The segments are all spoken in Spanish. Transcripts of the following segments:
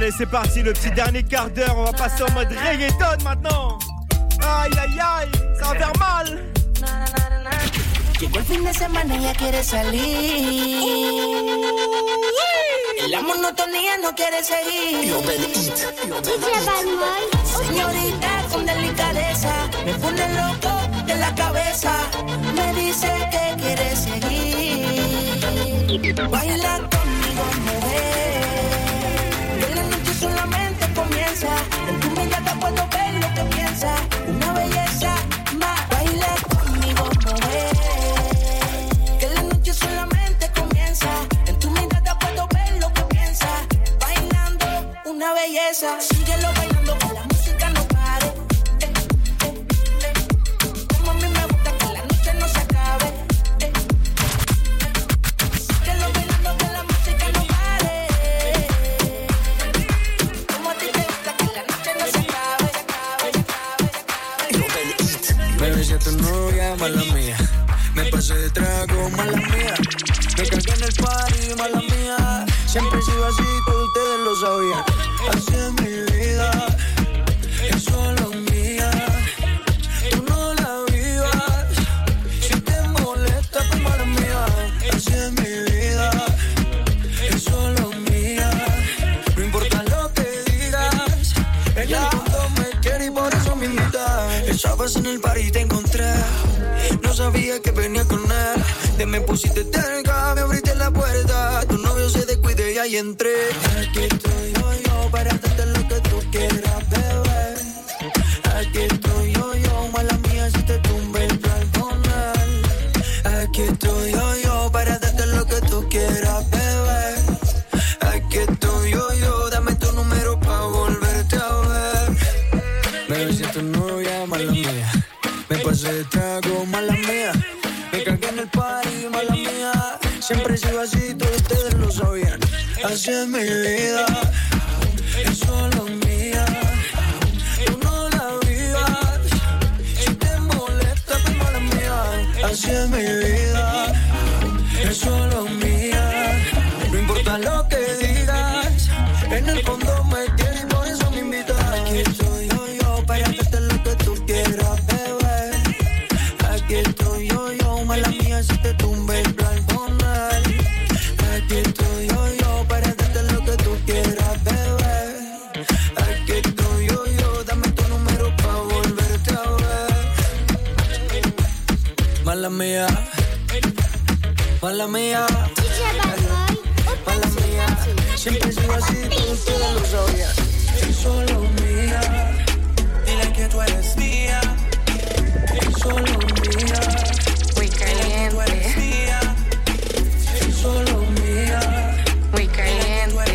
Allez, c'est parti, le petit dernier quart d'heure. On va passer en mode reggaeton maintenant. Aïe, aïe, aïe, ça va faire mal. Llegó el fin de semana y ella quiere salir. La monotonía no quiere seguir. Señorita con delicadeza, me pone loco de la cabeza. Me dice que quiere seguir. Baila conmigo, mujer. Que la noche solamente comienza. En tu mirada puedo ver lo que piensa. Una belleza más. Baila conmigo, mujer. Que la noche solamente comienza. En tu mirada puedo ver lo que piensa. Bailando una belleza. Síguelo bailando que la música no pare. Como a mí me gusta que la noche no se acabe. Síguelo bailando que la música no pare. Como a ti te gusta que la noche no se acabe. Baby, si es tu novia, mala mía. Me pasé de trago, mala mía. Me cagué en el party, mala mía. Siempre he sido así, todos ustedes lo sabían. Así es mi vida, es solo mía. Tú no la vivas, si te molesta, pues mala mía. Así es mi vida, es solo mía. No importa lo que digas, ella en el fondo me quiere y por eso me invita. Estabas en el party y te encontré. No sabía que venía con él. Te me pusiste cerca, me abriste la puerta. Tu novio se descuide y ahí entré. Aquí estoy yo para darte lo que tú quieras, bebé. Aquí estoy yo, mala mía si te tumbe el balconal. Aquí estoy yo para darte lo que tú quieras, bebé. Aquí estoy yo, dame tu número pa' volverte a ver. Bebé, si es tu novia, mala mía. Me pasé de trago, mala mía. Me cagué en el party, mala mía. Siempre he sido así, todos ustedes lo sabían. Así es mi vida, es solo mía. Tú no la vivas, si te molesta, pues mala mía. Así es mi vida, es solo mía. No importa lo que digas, en el fondo me quieres y por eso me invitas. Aquí estoy yo para darte lo que tú quieras, bebé. Aquí estoy yo, mala mía si te tumbe el balconal. Aquí estoy yo para darte lo que tú quieras, bebé. Aquí estoy yo, dame tu número pa' volverte a ver. Mala mía, mala mía, mala mía. Siempre he sido así, todos ustedes lo sabían. Soy solo mía. Dile que tú eres mía. Solo mía, muy caliente. Solo mía, muy caliente.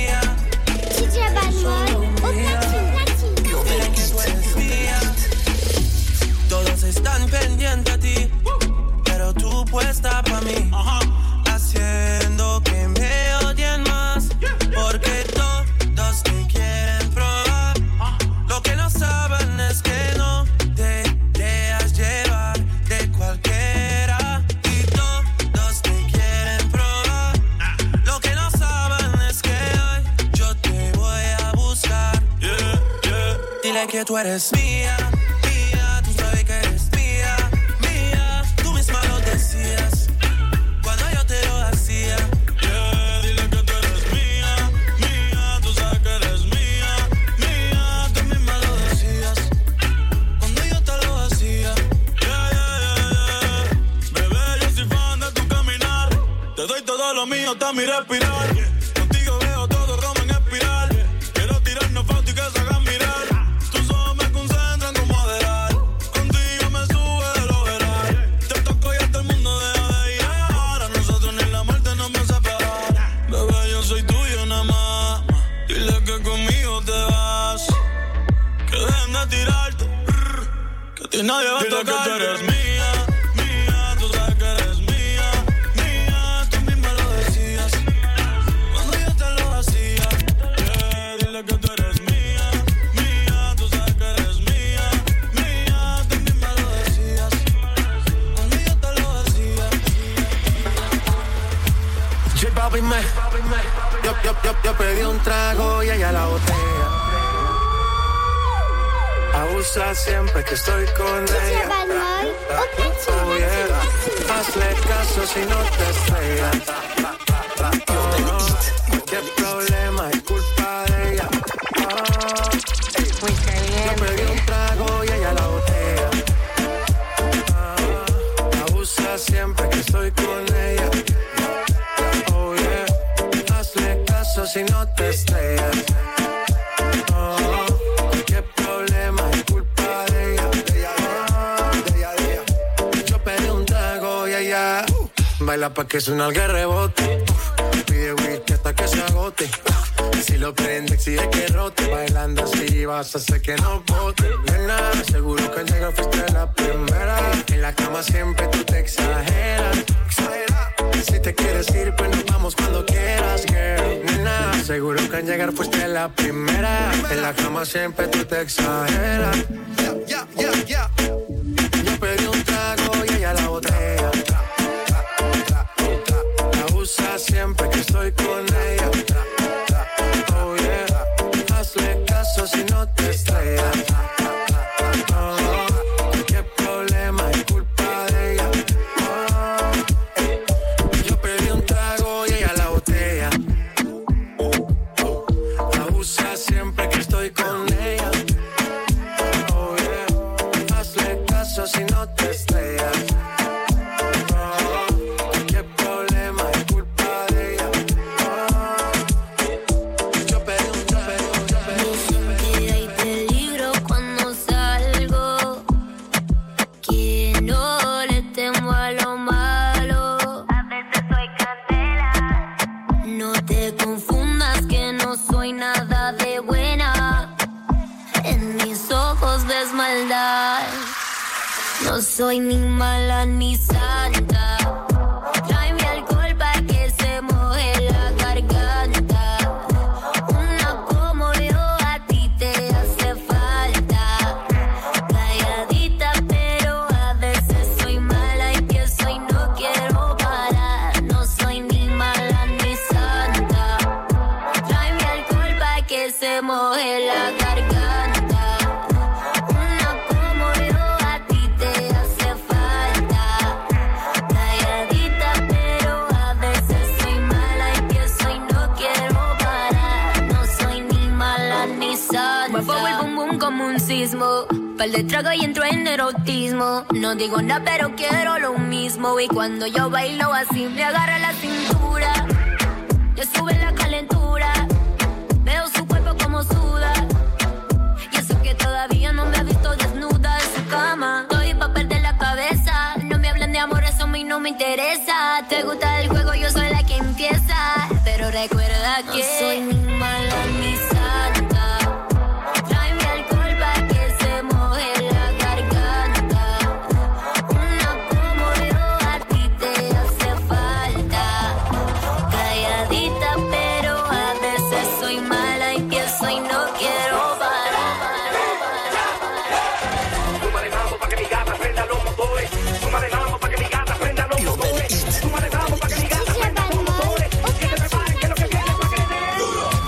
todos están pendientes a ti, pero tú puesta pa' mí, haciendo que me odien más, porque todos te quieren probar. Lo que no saben es que no te dejas llevar de cualquiera y todos te quieren probar. Lo que no saben es que hoy yo te voy a buscar. Dile que tú eres mía, mía, tú sabes que eres mía, mía. Tú misma lo decías cuando yo te lo hacía. Dile que tú eres mía, mía, tú sabes que eres mía, mía. Tú misma lo decías cuando yo te lo hacía. Bebé, yo soy fan de tu caminar. Te doy todo lo mío, hasta mi respirar. Contigo veo todo Roma en espiral. Quiero tirarnos fotos y que se hagan mirar. Tus ojos me concentran como adelar. Contigo me sube de lo veral. Te toco y hasta el mundo deja de ir. A nosotros ni la muerte nos va a separar. Bebé, yo soy tuyo nada más. Dile que conmigo te vas. Que dejen de tirarte. Que a ti nadie va a tocar. Dile que tú eres mía, mía. Tú sabes que eres mía, mía. Tú misma lo decías cuando yo te lo hacía. Dile que tú eres mía, mía. Tú sabes que eres mía, mía. Tú misma lo decías cuando yo te lo hacía. J Balvin Yo pedí un trago y ella la botella. Abusa siempre que estoy con ella. Oh, yeah. Hazle caso si no te estrellas. ¿Qué problema? Es culpa de ella. Muy caliente. Yo pedí un trago y ella la botella. Abusa siempre que estoy con ella. Oh yeah. Hazle caso si no te estrellas. ¿Qué problema? Es culpa de ella. Yo pedí un trago y ella baila pa' que suena el rebote. Pide whisky hasta que se agote. Si lo prende, exige que rote. Bailando así vas a hacer que no bote. Nena, seguro que al llegar fuiste la primera. En la cama siempre tú te exageras. Si te quieres ir, pues nos vamos cuando quieras, girl. Nena, seguro que al llegar fuiste la primera. En la cama siempre tú te exageras. Yo pedí un trago y ella la botella. Abusa siempre que estoy con ella. Oh yeah. Hazle caso si no te estrellas. ¿Qué problema? Es culpa de ella. Yo pedí un trago y ella la botella. Abusa siempre que estoy con ella. Oh yeah. Hazle caso si no te estrellas. No soy ni mala ni santa. Tráeme alcohol pa' que se moje la garganta. Una como yo a ti te hace falta. Calladita pero a veces soy mala y empiezo y no quiero parar. No soy ni mala ni santa. Tráeme alcohol pa' que se moje la garganta. Como un sismo, par de trago y entro en erotismo. No digo nada pero quiero lo mismo. Y cuando yo bailo así me agarra la cintura, le sube la calentura. Veo su cuerpo como suda. Y eso que todavía no me ha visto desnuda en su cama. Estoy pa' perder la cabeza. No me hablen de amor, eso a mí no me interesa. Te gusta el juego, yo soy la que empieza. Pero recuerda que no soy ni mala ni santa. Tráeme alcohol pa' que se moje la garganta. Una como yo a ti te hace falta. Calladita pero a veces soy mala y empiezo y no quiero parar. Tú manejando pa' que mi gata prenda los motores. Tú manejando pa' que mi gata prenda los motores. Tú manejando pa' que mi gata prenda los motores. Que te preparen que lo que viene pa' crecer.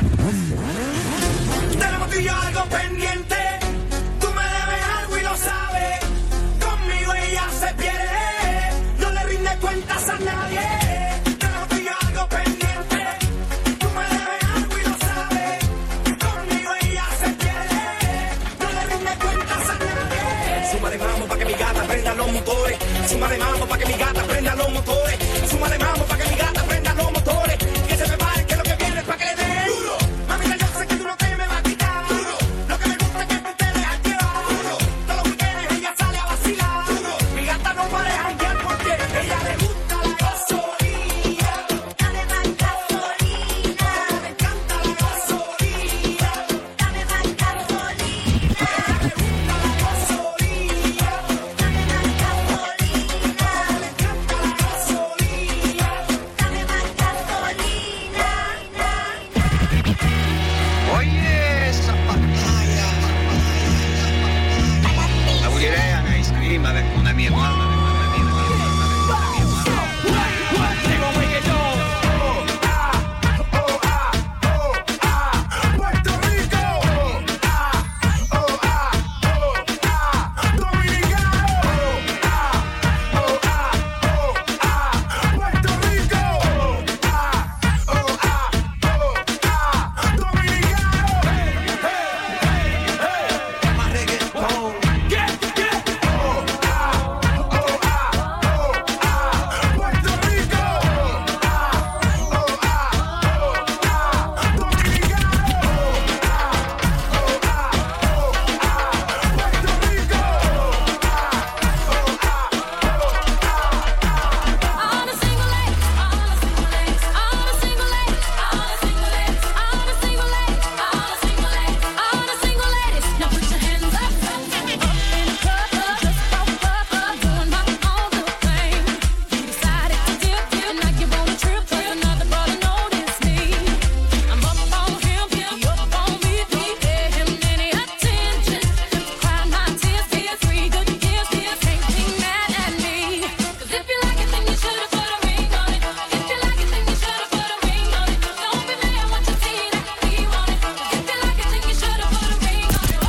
Tenemos tú y yo algo pendiente. Tú me debes algo y lo sabes. Conmigo ella se pierde. No le rinde cuentas a nadie. Tenemos tú y yo algo pendiente. Tú me debes algo y lo sabes. Conmigo ella se pierde. No le rinde cuentas a nadie. Súmale mambo pa' que mi gata prenda los motores. Súmale mambo pa' que mi gata prenda los motores. Súmale mambo pa' que mi gata prenda los motores. Que se prepare que lo que viene es pa' que le dé duro. Mamita, yo sé que tú no te me vas a quitar duro. Lo que me gusta es que tú te dejas llevar duro. Todos los weekends ella sale a vacilar duro. Mi gata no para de janguear porque ella le gusta la gasolina. Dame más gasolina. Me encanta la gasolina. Dame más gasolina. Ella le gusta la gasolina. Dame más gasolina. Me encanta la gasolina. Dame más gasolina. Oye, esa pantalla. La bullidea, nice. Prima, una mia mamma. Llegó reggaetón. Puerto Rico. Dominicano. Puerto Rico. Dominicano. Más reggaetón. Puerto Rico. On a single leg, on a single leg, on a single leg, on a single leg, on a single leg, on a single leg, on a single leg. Now put your hands up, up in the club, just up, doing my own little thing. You decided to dip, and now you wanna trip, 'cause another brother noticed me. I'm up on him, he up on me, we pay him any attention. Cry my tears, be 3 good years, can't be mad at me. 'Cause if you like it, then you should've put a ring on it. If you like it, then you should've put a ring on it. Don't be mad what you see that we want it. 'Cause if you like it, then you should've put a ring on it.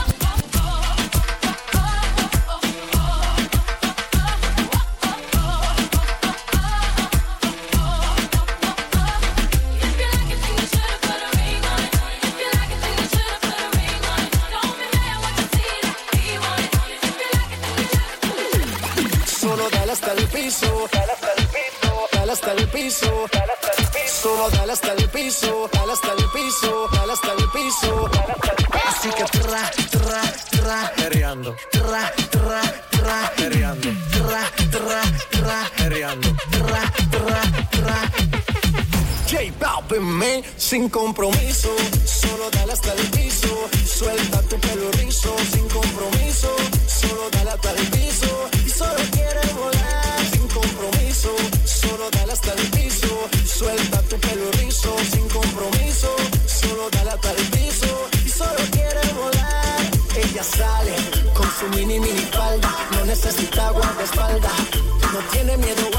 If you like it, then you should've put a ring on it. If you like it, then you should've put a ring on it. Don't be mad what you see that we want it. If you like it, then you should've put a ring on it. Solo dale hasta el piso. Dale hasta el piso. Dale hasta el piso. Dale hasta el piso. Solo dale hasta el piso. Dale hasta el piso. Dale hasta el piso. Así que perreando. Perreando. Perreando. J Balvin, man, sin compromiso. Solo dale hasta el piso. Suelta tu pelo rizo. Sin compromiso. Solo dale hasta el piso. Y solo quiere volar. Sin compromiso. Solo dale hasta el piso. Suelta tu pelo rizo. Sin compromiso. Solo dale hasta el piso. Y solo quiere volar. Ella sale con su mini falda. No necesita guardaespaldas. No tiene miedo